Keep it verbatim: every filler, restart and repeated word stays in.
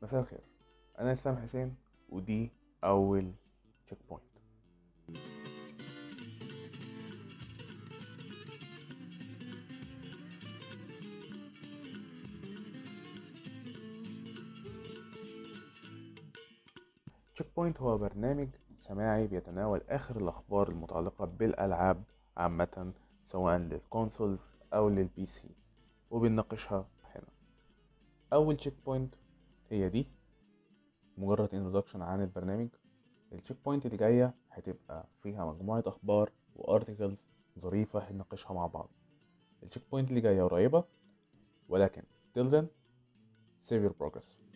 مساء الخير. انا اسلام حسين، ودي اول تشيك بوينت. تشيك بوينت هو برنامج سماعي بيتناول اخر الاخبار المتعلقه بالالعاب عامه، سواء للكونسولز او للبي سي، وبنناقشها هنا. اول تشيك بوينت هي دي، مجرد انترودكشن عن البرنامج. التشيك بوينت اللي جايه هتبقى فيها مجموعه اخبار وارتكلز ظريفه هنناقشها مع بعض. التشيك بوينت اللي جايه قريبه، ولكن till then save your progress.